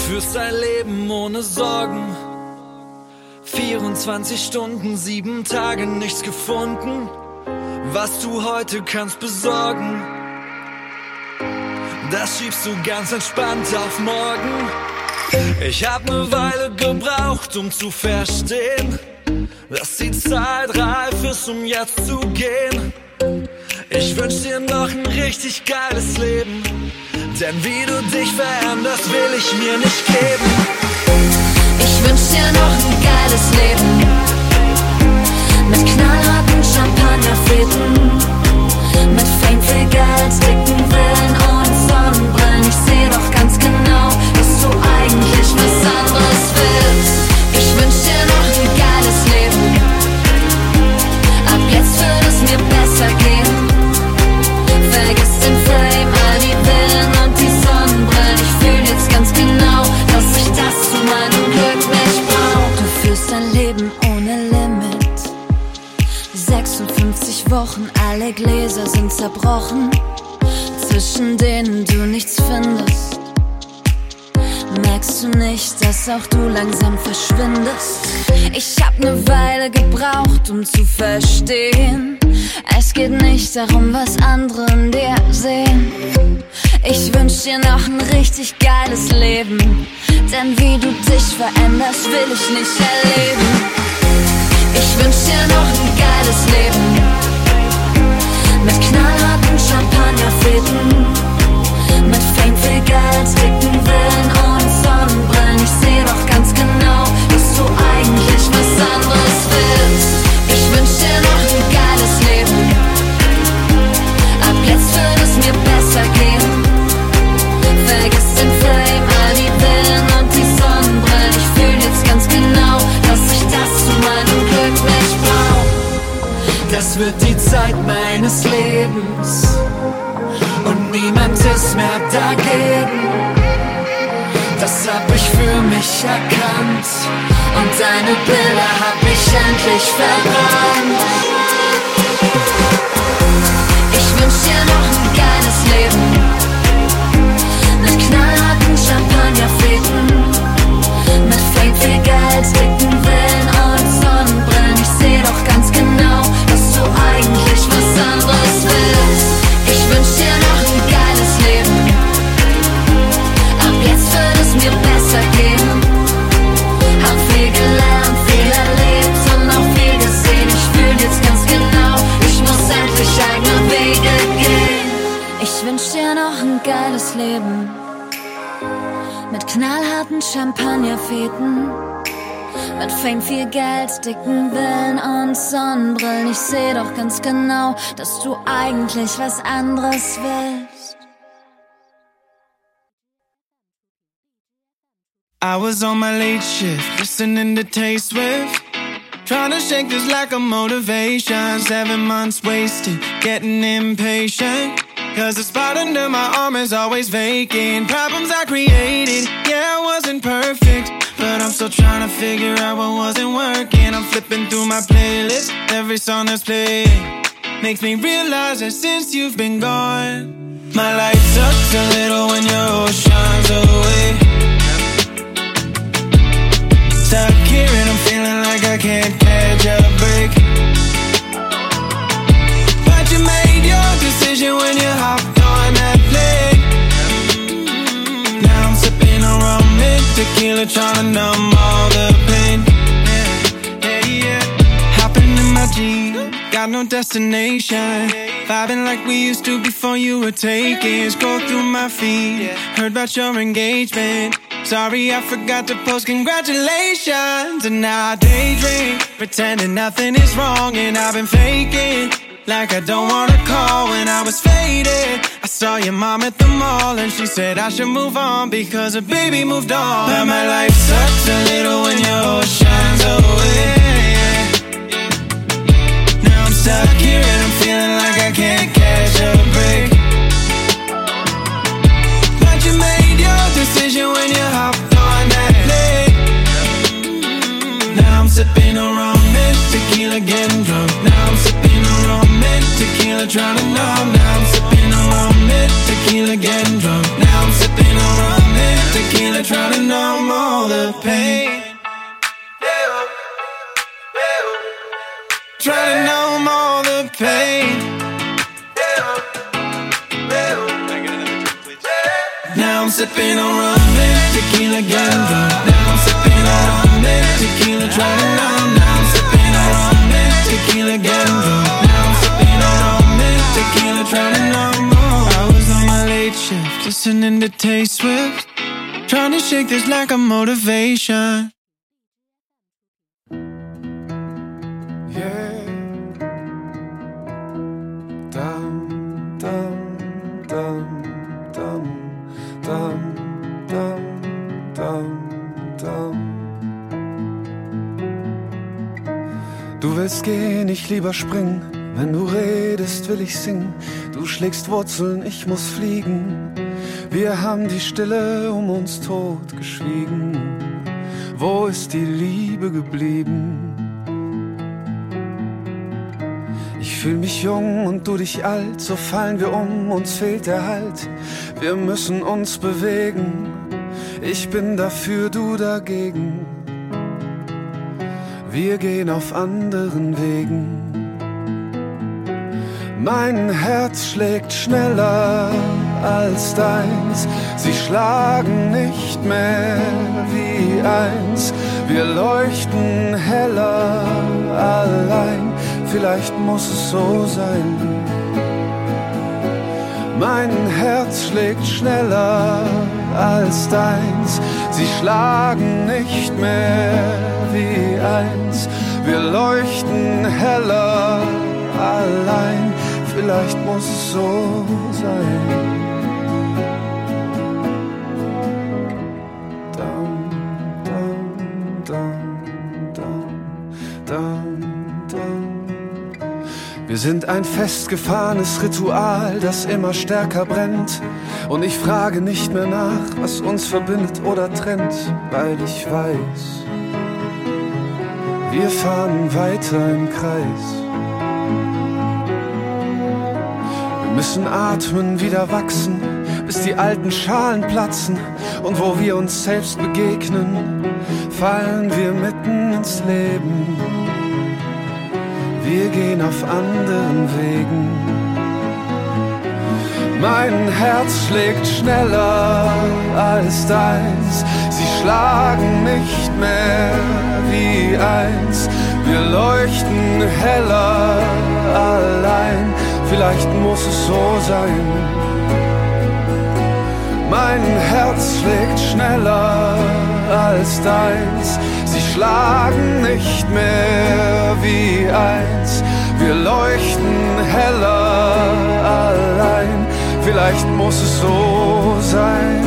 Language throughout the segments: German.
führst ein Leben ohne Sorgen. 24 Stunden, 7 Tage, nichts gefunden, was du heute kannst besorgen. Das schiebst du ganz entspannt auf morgen. Ich hab ne Weile gebraucht, um zu verstehen, dass die Zeit reif ist, um jetzt zu gehen. Ich wünsch dir noch ein richtig geiles Leben, denn wie du dich veränderst, will ich mir nicht geben. Ich wünsch dir noch ein geiles Leben, mit knallharten Champagnerfäden, mit Fame, viel Geld, dicken Villen und Sonnenbrillen. Ich seh doch ganz genau, dass du eigentlich was anderes willst. Ich wünsch dir noch ein geiles Leben, ab jetzt wird es mir besser gehen. Vergiss den Fame, all die Villen und die Sonnenbrillen. Ich fühl jetzt ganz genau, dass ich das zu meinem Glück nicht brauch. Du führst dein Leben ohne Limit, 56 Wochen, alle Gläser sind zerbrochen, zwischen denen du nichts findest. Merkst du nicht, dass auch du langsam verschwindest? Ich hab ne Weile gebraucht, um zu verstehen, es geht nicht darum, was andere in dir sehen. Ich wünsch dir noch ein richtig geiles Leben, denn wie du dich veränderst, will ich nicht erleben. Ich wünsch dir noch ein geiles Leben, mit knallharten Champagnerfäden, mit Fame, viel Geld, dicken Villen und Sonnenbrillen. Ich seh doch ganz genau, dass du eigentlich was anderes willst. Ich wünsch dir noch ein geiles Leben, ab jetzt wird es mir besser gehen. Vergiss den Fame, all die Villen und die Sonnenbrillen. Ich fühl jetzt ganz genau, dass ich das zu meinem Glück nicht brauch. Das wird die Zeit meines Lebens und niemand ist mehr dagegen. Das hab ich für mich erkannt und deine Bilder hab ich endlich verbrannt. Ich wünsch dir noch ein geiles Leben, mit knallharten Champagnerfäden, mit Fame, viel Geld, dicken Villen und Sonnenbrillen. Ich seh doch ganz genau, dass du eigentlich was anderes willst. Ich wünsch dir noch ein geiles Leben, ab jetzt wird es mir besser gehen. Hab viel gelernt, viel erlebt und auch viel gesehen. Ich fühl jetzt ganz genau, ich muss endlich eigene Wege gehen. Ich wünsch dir noch ein geiles Leben, mit knallharten Champagnerfäden, mit Fame, viel Geld, dicken Villen und Sonnenbrillen. Ich seh doch ganz genau, dass du eigentlich was anderes willst. I was on my late shift, listening to Taste Swift, trying to shake this lack of motivation. 7 months wasted, getting impatient, cause the spot under my arm is always vacant. Problems I created, yeah, I wasn't perfect, but I'm still trying to figure out what wasn't working. I'm flipping through my playlist, every song that's playing makes me realize that since you've been gone, my life sucks a little when your rose shines away. Stuck here and I'm feeling like I can't catch a break, but you made your decision when you hopped on that plane. Now I'm sipping on rum and tequila, trying to numb all the pain. Hopping in my Jeep, got no destination, vibing like we used to before you were taken. Scroll through my feed, heard about your engagement. Sorry, I forgot to post congratulations. And now I daydream, pretending nothing is wrong, and I've been faking like I don't wanna call. When I was faded, I saw your mom at the mall, and she said I should move on because her baby moved on. But my life sucks a little when your rose shines away. Now I'm stuck here and I'm feeling like I can't catch a break, but you made your decision when you hopped on that plane. Now I'm sipping on rum and tequila, getting drunk. Now I'm sipping on rum and tequila, trying to numb. Now I'm sipping on rum and tequila, getting drunk. Now I'm sipping on rum and tequila, trying to numb. sipping on rum and tequila, getting drunk. Now I'm sipping on rum and tequila, trying to numb. Now I'm sipping on rum and tequila, getting drunk. Now I'm sipping on rum and tequila, trying to numb. I was on my late shift, listening to Tay-Swift, trying to shake this lack of motivation. Yeah. Dum, dum, dum, dum, dum, dum, dum, dum. Du willst gehen, ich lieber springen. Wenn du redest, will ich singen. Du schlägst Wurzeln, ich muss fliegen. Wir haben die Stille um uns totgeschwiegen. Wo ist die Liebe geblieben? Ich fühl mich jung und du dich alt, so fallen wir um, uns fehlt der Halt. Wir müssen uns bewegen, ich bin dafür, du dagegen. Wir gehen auf anderen Wegen. Mein Herz schlägt schneller als deins, sie schlagen nicht mehr wie eins. Wir leuchten heller allein, vielleicht muss es so sein. Mein Herz schlägt schneller als deins, sie schlagen nicht mehr wie eins. Wir leuchten heller allein, vielleicht muss es so sein. Dum, dum, dum, dum, dum, dum. Wir sind ein festgefahrenes Ritual, das immer stärker brennt. Und ich frage nicht mehr nach, was uns verbindet oder trennt, weil ich weiß, wir fahren weiter im Kreis. Wir müssen atmen, wieder wachsen, bis die alten Schalen platzen. Und wo wir uns selbst begegnen, fallen wir mitten ins Leben. Wir gehen auf anderen Wegen. Mein Herz schlägt schneller als deins, sie schlagen nicht mehr wie eins. Wir leuchten heller allein, vielleicht muss es so sein. Mein Herz schlägt schneller als deins, sie schlagen nicht mehr wie eins. Wir leuchten heller allein, vielleicht muss es so sein.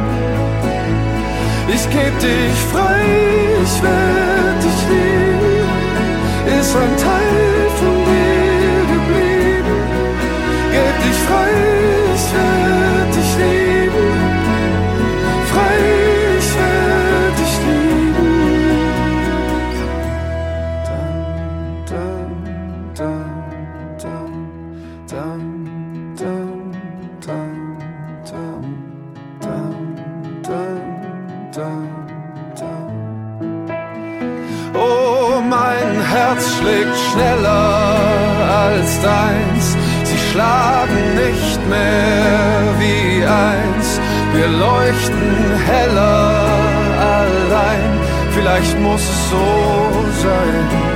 Ich geb dich frei, ich werd dich lieben, ist ein Teil von dir geblieben. Geb dich frei, ich werd dich lieben, frei, ich werd dich lieben. Dum, dum, dum, dum, dum, dum, dum, dum, dum, dum, dum. Oh, mein Herz schlägt schneller als deins, sie schlagen nicht mehr wie eins. Wir leuchten heller allein, vielleicht muss es so sein.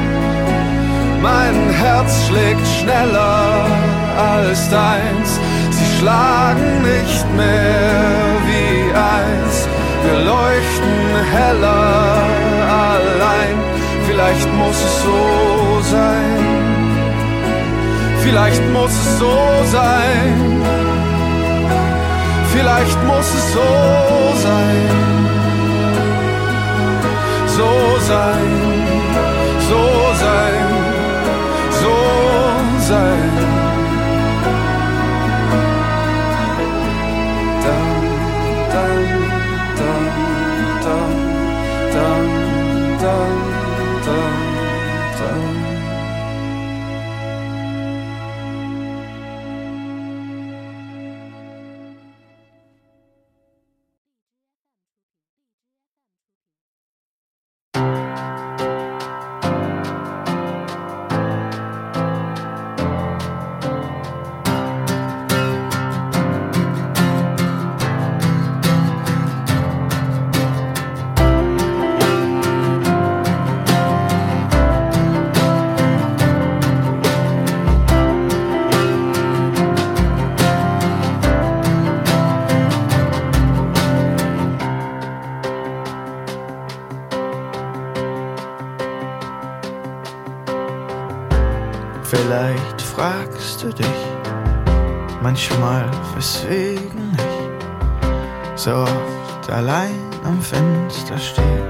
Mein Herz schlägt schneller als deins, sie schlagen nicht mehr wie eins. Wir leuchten heller allein, vielleicht muss es so sein. Vielleicht muss es so sein. Vielleicht muss es so sein. So sein, so sein, so sein. Vielleicht fragst du dich manchmal, weswegen ich so oft allein am Fenster stehe.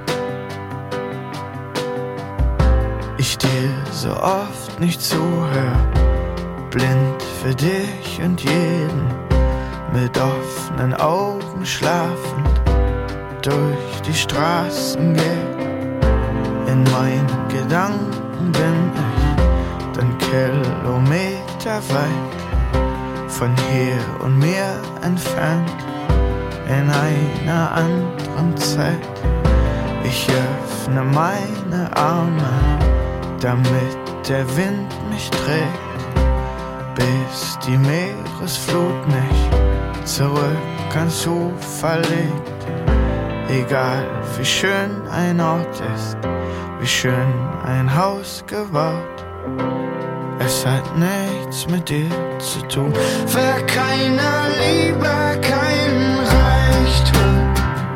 Ich dir so oft nicht zuhör, blind für dich und jeden, mit offenen Augen schlafend durch die Straßen geh. In meinen Gedanken bin ich dann Kilometer weit von hier und mir entfernt, in einer anderen Zeit. Ich öffne meine Arme, damit der Wind mich trägt, bis die Meeresflut mich zurück ans Ufer legt. Egal wie schön ein Ort ist, wie schön ein Haus gebaut, es hat nichts mit dir zu tun. Für keine Liebe, kein Reichtum,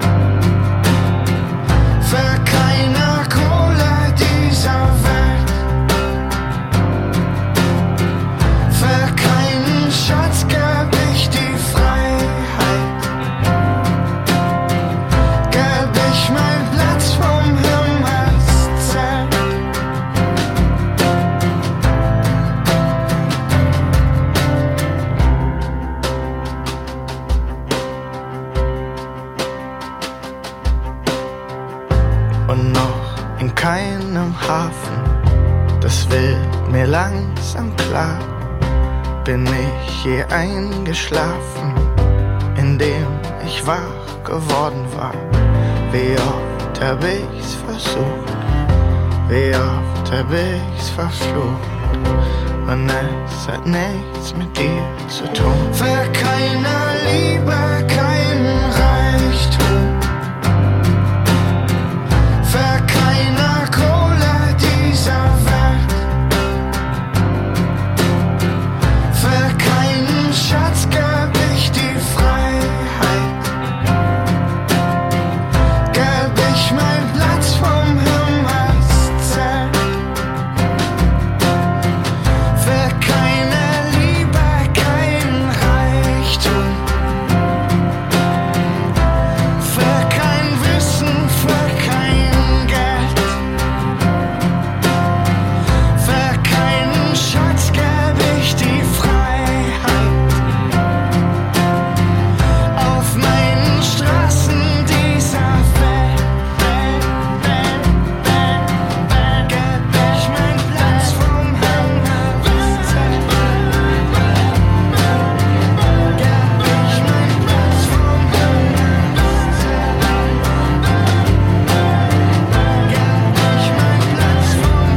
für keine Kohle dieser Welt, für keinen Schatz gab ich die Freiheit, gab ich meinen Platz vom Himmelszelt. Und noch in keinem Hafen, das wird mir langsam klar, bin ich je eingeschlafen, indem ich wach geworden war. Wie oft hab ich's versucht, wie oft hab ich's verflucht, und es hat nichts mit dir zu tun. Für keine Liebe, kein Reichtum, für keine Kohle dieser Welt, für keinen Schatz gab ich die Freiheit, gab ich meinen Platz vom Himmelszelt. Für keine Liebe, kein Reichtum, für kein Wissen, für kein Geld, für keinen Schatz gab ich die Freiheit, auf meinen Straßen dieser Welt, gab ich meinen Platz vom Himmelszelt, gab ich meinen Platz vom Himmelszelt, gab ich meinen Platz vom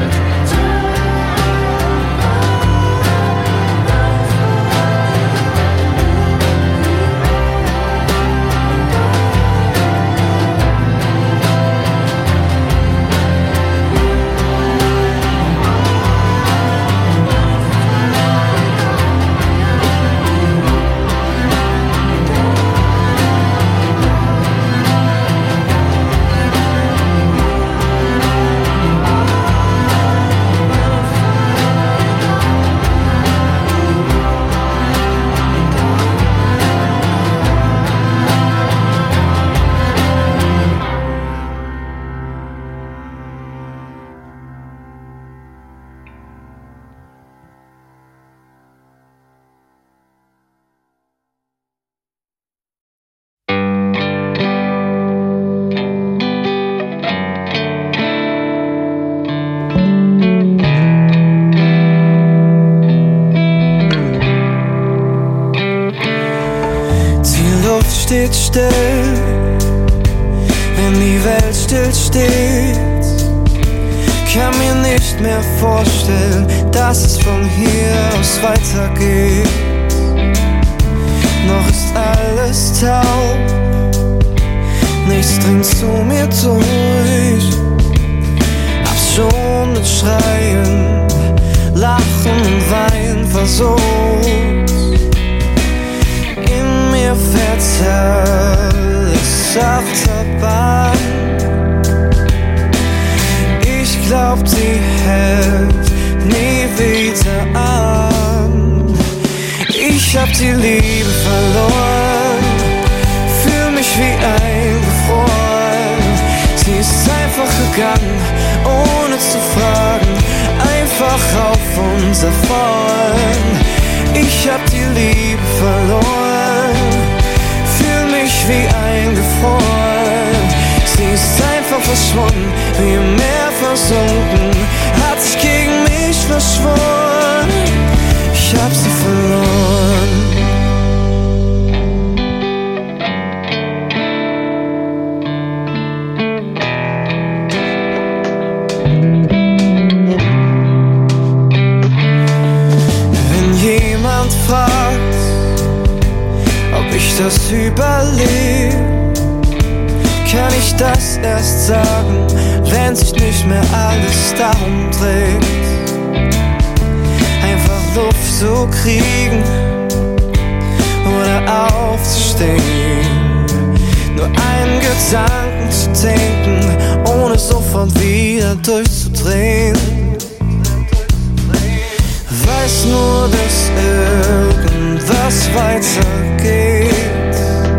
Die Luft steht still, wenn die Welt still steht. Kann mir nicht mehr vorstellen, dass es von hier aus weitergeht. Noch ist alles taub, nichts dringt zu mir durch. Hab schon mit Schreien, Lachen und Weinen versucht. In mir fährt alles Achterbahn. Ich glaub, die hält nie wieder an. Ich hab die Liebe verloren, fühl mich wie eingefroren. Sie ist einfach gegangen, ohne zu fragen, einfach auf uns davon. Ich hab die Liebe verloren, fühl mich wie eingefroren. Sie ist einfach verschwunden, wie im Meer versunken, hat sich gegen mich verschworen. Ich hab sie verloren. Wenn jemand fragt, ob ich das überlebe, kann ich das erst sagen, wenn sich nicht mehr alles darum dreht, einfach Luft zu kriegen oder aufzustehen, nur einen Gedanken zu denken, ohne sofort wieder durchzudrehen. Weiß nur, dass irgendwas weitergeht,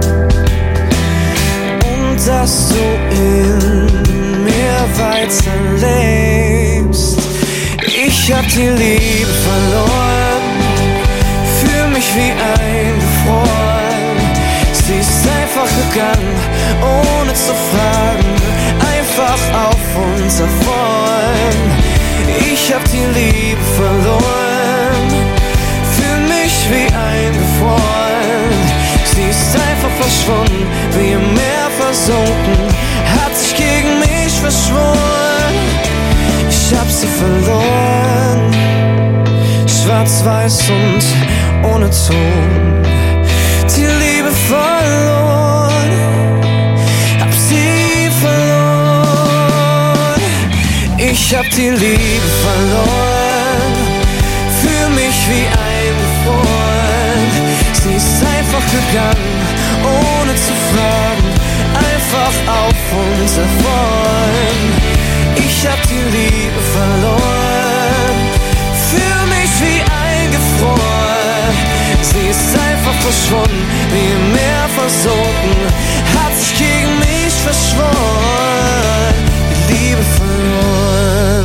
dass du in mir weiterlebst. Ich hab die Liebe verloren, fühl mich wie eingefroren. Sie ist einfach gegangen, ohne zu fragen, einfach auf uns davon. Ich hab die Liebe verloren, fühl mich wie eingefroren. Sie ist einfach verschwunden, wie im Meer versunken, hat sich gegen mich verschworen. Ich hab sie verloren, schwarz-weiß und ohne Ton. Die Liebe verloren, hab sie verloren. Ich hab die Liebe verloren, fühl mich wie eingefroren. Sie ist einfach gegangen, ohne zu fragen, einfach auf uns davon. Ich hab die Liebe verloren, fühl mich wie eingefroren. Sie ist einfach verschwunden, wie im Meer versunken, hat sich gegen mich verschworen, die Liebe verloren.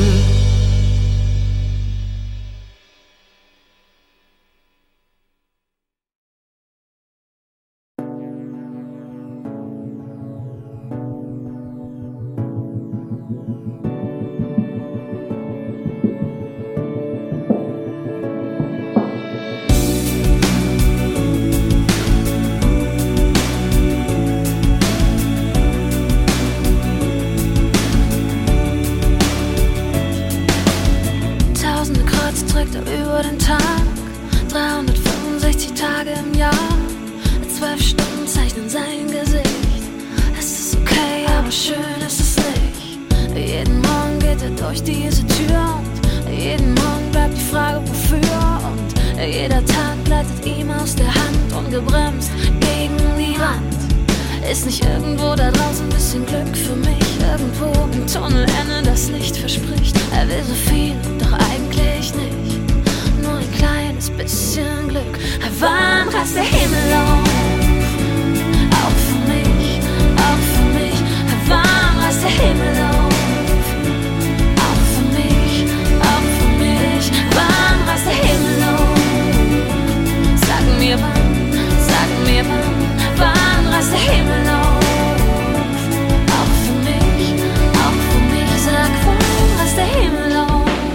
Über den Tag, 365 Tage im Jahr, 12 Stunden zeichnen sein Gesicht. Es ist okay, aber schön ist es nicht. Jeden Morgen geht er durch diese Tür und jeden Morgen bleibt die Frage wofür. Und jeder Tag gleitet ihm aus der Hand, ungebremst gegen die Wand. Ist nicht irgendwo da draußen ein bisschen Glück für mich? Irgendwo im Tunnelende das Licht verspricht. Er will so viel, doch eigentlich nicht. Nur ein kleines bisschen Glück. Wann reißt der Himmel auf? Auch für mich, auch für mich. Wann reißt der Himmel auf? Auch für mich, auch für mich. Wann reißt der Himmel auf? Sag mir wann, sag mir wann. Wann reißt der Himmel auf? Auch für mich, sag wann reißt der Himmel auf?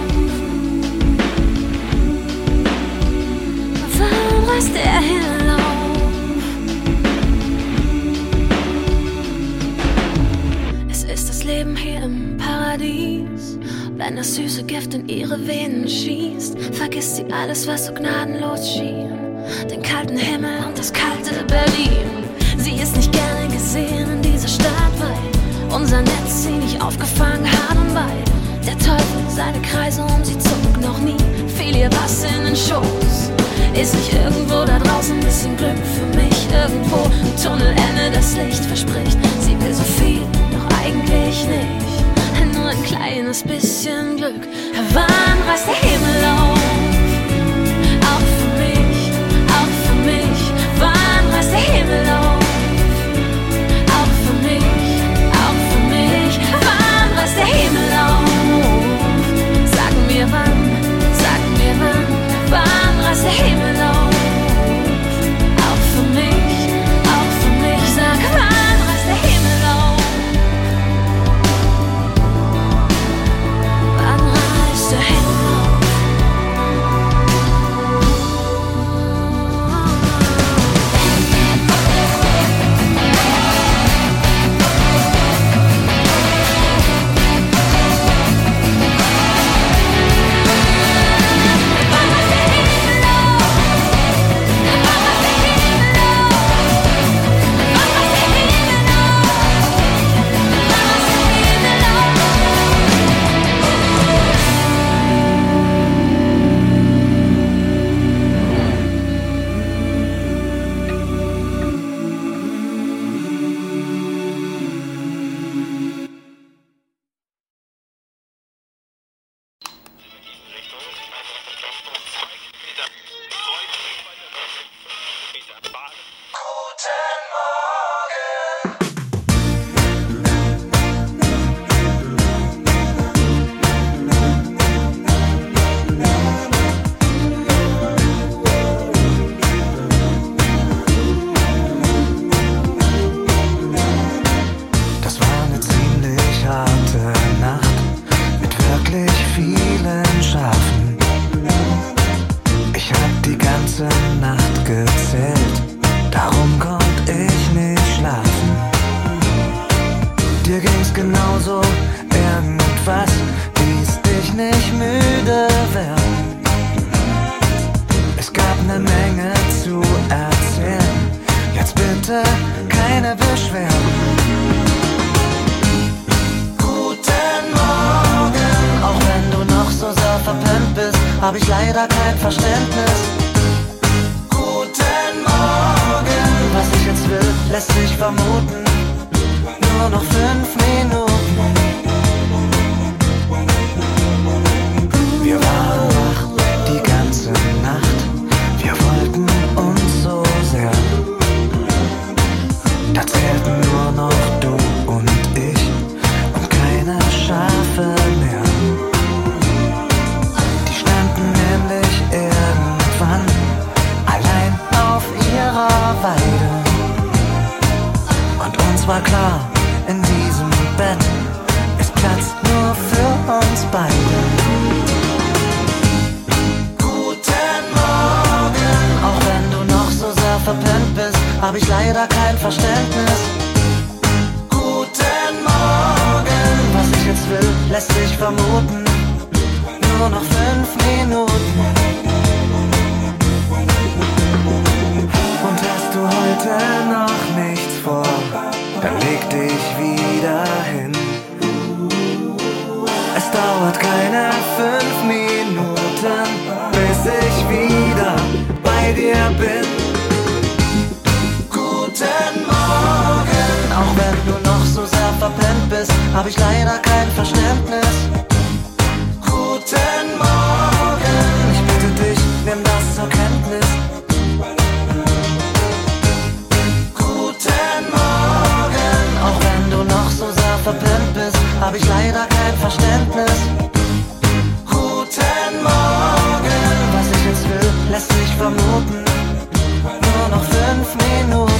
Wann reißt der Himmel auf? Es ist das Leben hier im Paradies. Wenn das süße Gift in ihre Venen schießt, vergisst sie alles, was so gnadenlos schien. Den kalten Himmel und das kalte Berlin. Sie ist nicht gerne gesehen in dieser Stadt, weil unser Netz sie nicht aufgefangen hat und weil der Teufel seine Kreise um sie zog. Noch nie fiel ihr was in den Schoß. Ist nicht irgendwo da draußen ein bisschen Glück für mich? Irgendwo im Tunnelende das Licht verspricht. Sie will so viel, doch eigentlich nicht. Nur ein kleines bisschen Glück. Wann reißt der Himmel auf? hab ich leider kein Verständnis. Guten Morgen. Was ich jetzt will, lässt sich vermuten. Nur noch 5 Minuten. Wir waren wach die ganze Nacht. Wir wollten uns so sehr. Da zählten nur noch du und ich und keine Schafe mehr. Die standen nämlich irgendwann allein auf ihrer Weide. Und uns war klar, in diesem Bett ist Platz nur für uns beide. Guten Morgen. Auch wenn du noch so sehr verpennt bist, hab ich leider kein Verständnis. Guten Morgen. Was ich jetzt will, lässt sich vermuten. Nur noch 5 Minuten. Und hast du heute noch nichts vor, dann leg dich wieder hin. Es dauert keine 5 Minuten, bis ich wieder bei dir bin. Guten Morgen. Auch wenn du noch so sehr verpennt bist, hab ich leider kein Verständnis. Guten Morgen. Ich bitte dich, nimm das zur Kenntnis. Guten Morgen. Auch wenn du noch so sehr verpennt bist, hab ich leider kein Verständnis. Guten Morgen. Was ich jetzt will, lässt sich vermuten. Nur noch 5 Minuten.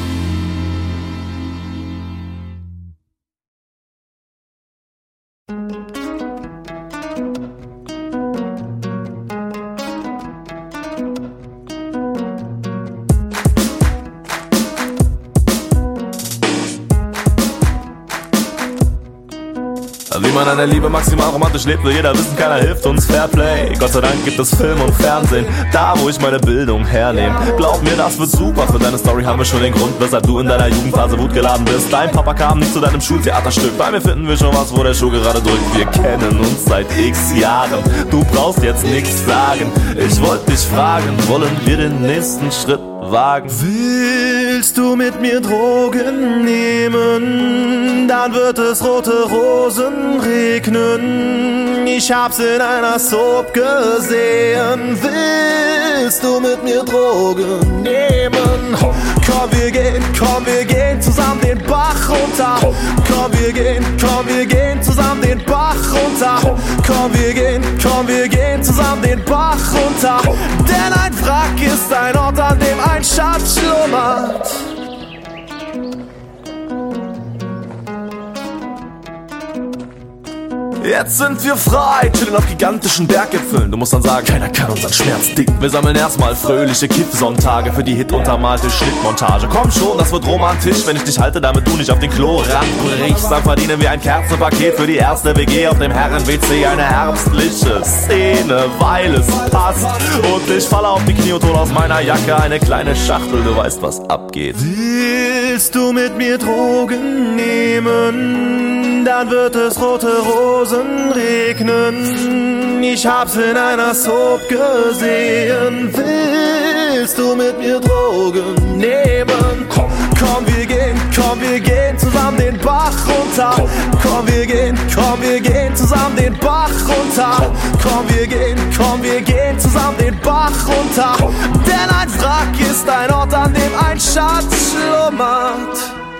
Wie man an der Liebe maximal romantisch lebt, will jeder wissen, keiner hilft uns. Fairplay, Gott sei Dank gibt es Film und Fernsehen, da wo ich meine Bildung hernehme. Glaub mir, das wird super, für deine Story haben wir schon den Grund, weshalb du in deiner Jugendphase wutgeladen bist. Dein Papa kam nicht zu deinem Schultheaterstück, bei mir finden wir schon was, wo der Schuh gerade drückt. Wir kennen uns seit x Jahren, du brauchst jetzt nichts sagen. Ich wollte dich fragen, wollen wir den nächsten Schritt wagen? Willst du mit mir Drogen nehmen? Dann wird es rote Rosen regnen. Ich hab's in einer Soap gesehen. Willst du mit mir Drogen nehmen? Komm, wir gehen zusammen den Bach runter. Komm, wir gehen zusammen den Bach runter. Komm, wir gehen zusammen den Bach runter. Denn ein Wrack ist ein Ort, an dem ein Schatz schlummert. Jetzt sind wir frei, chillen auf gigantischen Berggipfeln. Du musst dann sagen, keiner kann unseren Schmerz dicken. Wir sammeln erstmal fröhliche Kiff-Sonntage für die hituntermalte Schnittmontage. Komm schon, das wird romantisch, wenn ich dich halte, damit du nicht auf den Klorand brichst. Dann verdienen wir ein Kerzenpaket für die erste WG auf dem Herren-WC. Eine herbstliche Szene, weil es passt. Und ich falle auf die Knie und hol aus meiner Jacke eine kleine Schachtel, du weißt, was abgeht. Willst du mit mir Drogen nehmen? Dann wird es rote Rosen regnen. Ich hab's in einer Soap gesehen. Willst du mit mir Drogen nehmen? Komm, wir gehen zusammen den Bach runter. Komm, wir gehen zusammen den Bach runter. Komm, wir gehen zusammen den Bach runter. Denn ein Wrack ist ein Ort, an dem ein Schatz schlummert.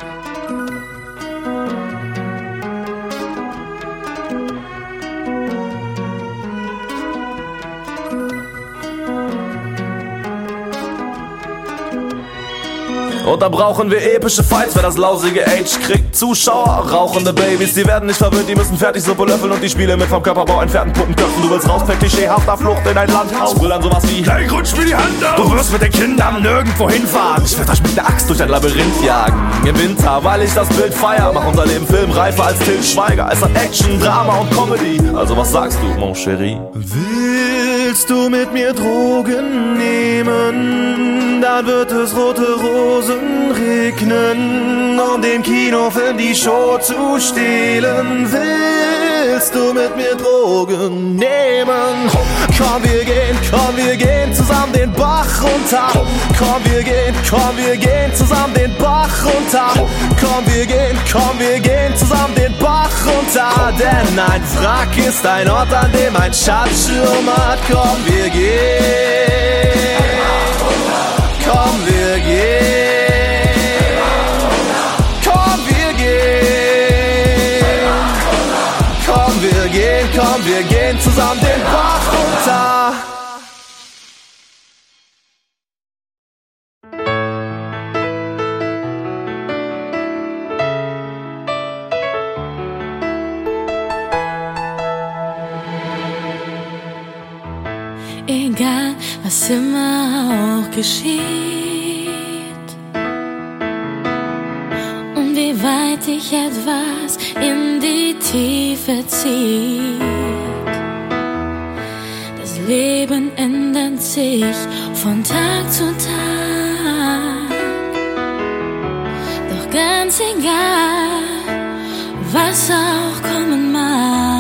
Und da brauchen wir epische Fights, wer das lausige Age kriegt. Zuschauer, rauchende Babys, die werden nicht verwöhnt, die müssen fertig Suppe löffeln und die Spiele mit vom Körperbau entfernten Puppenköpfen. Du willst raus per klischeehafter Flucht in ein Landhaus. Will dann sowas wie, hey, rutsch mir die Hand auf. Du wirst mit den Kindern nirgendwo hinfahren. Ich werd euch mit der Axt durch ein Labyrinth jagen. Im Winter, weil ich das Bild feier, mach unser Leben filmreifer als Til Schweiger. Es hat Action, Drama und Comedy. Also was sagst du, mon chéri? Willst du mit mir Drogen nehmen? Dann wird es rote Rosen regnen, um dem Kinofilm die Show zu stehlen. willst du mit mir Drogen nehmen? Komm, wir gehen zusammen den Bach runter. Komm, wir gehen zusammen den Bach runter. Komm, wir gehen zusammen den Bach runter. Denn ein Wrack ist ein Ort, an dem ein Schatz schlummert. Komm, wir gehen. Komm, wir gehen. Komm, wir gehen. Komm, wir gehen zusammen den Bach runter. Egal, was immer auch geschieht und wie weit dich etwas in die Tiefe zieht. Das Leben ändert sich von Tag zu Tag. Doch ganz egal, was auch kommen mag,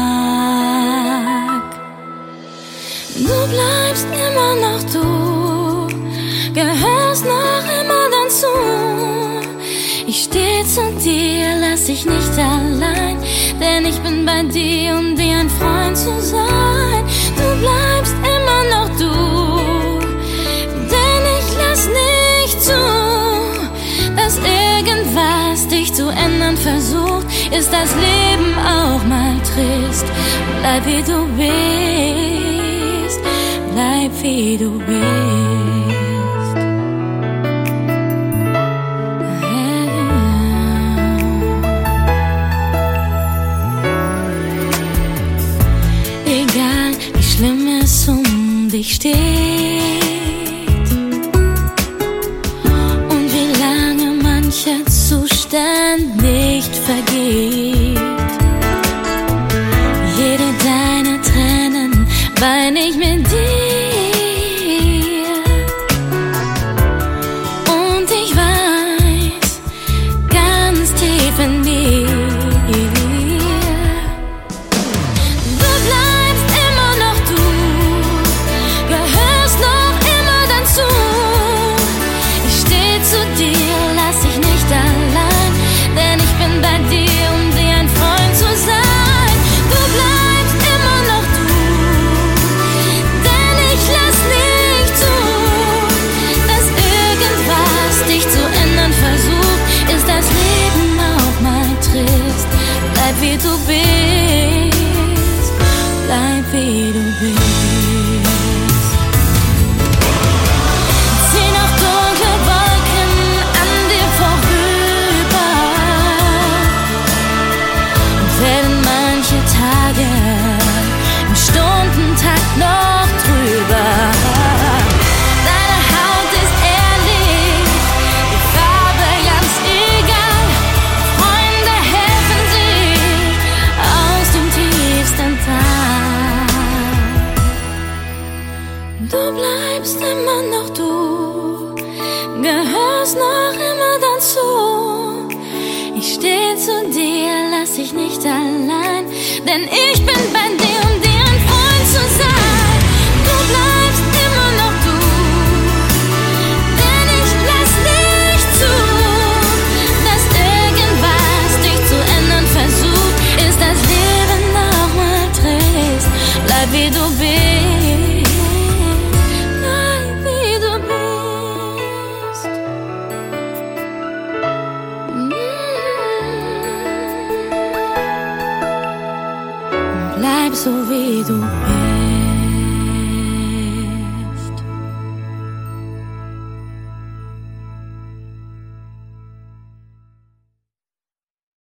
du bleibst immer noch du, gehörst noch immer dazu. Ich steh zu dir, lass dich nicht allein, denn ich bin bei dir, um dir ein Freund zu sein. Du bleibst immer noch du, denn ich lass nicht zu, dass irgendwas dich zu ändern versucht. Ist das Leben auch mal trist? Bleib wie du bist, bleib wie du bist. Egal wie schlimm es um dich steht und wie lange mancher Zustand nicht vergeht, jede deiner Tränen wein ich mit dir. Und ich weiß, ganz tief in mir, du bleibst immer noch du, gehörst noch immer dazu. Ich steh zu dir, lass dich nicht allein, denn ich bin bei dir, um dir ein Freund zu sein. Du bleibst immer noch du, denn ich lass nicht zu, dass irgendwas dich zu ändern versucht. Ist das Leben auch mal trist? Bleib wie du bist, bleib wie du bist. Zieh noch dunkle Wolken an dir vorüber und werden manche Tage im Stundentakt noch drüber. Deine Haut ist ehrlich, die Farbe ganz egal. Freunde helfen sich aus dem tiefsten Tal. Du bleibst immer noch du, gehörst noch immer dazu. Ich steh zu dir, lass dich nicht allein, denn ich bin bei dir, um dir ein Freund zu sein. Du bleibst immer noch du, denn ich lass nicht zu, dass irgendwas dich zu ändern versucht. Ist das Leben auch mal trist? Bleib wie du bist, bleib wie du bist. Bleib so wie du bist.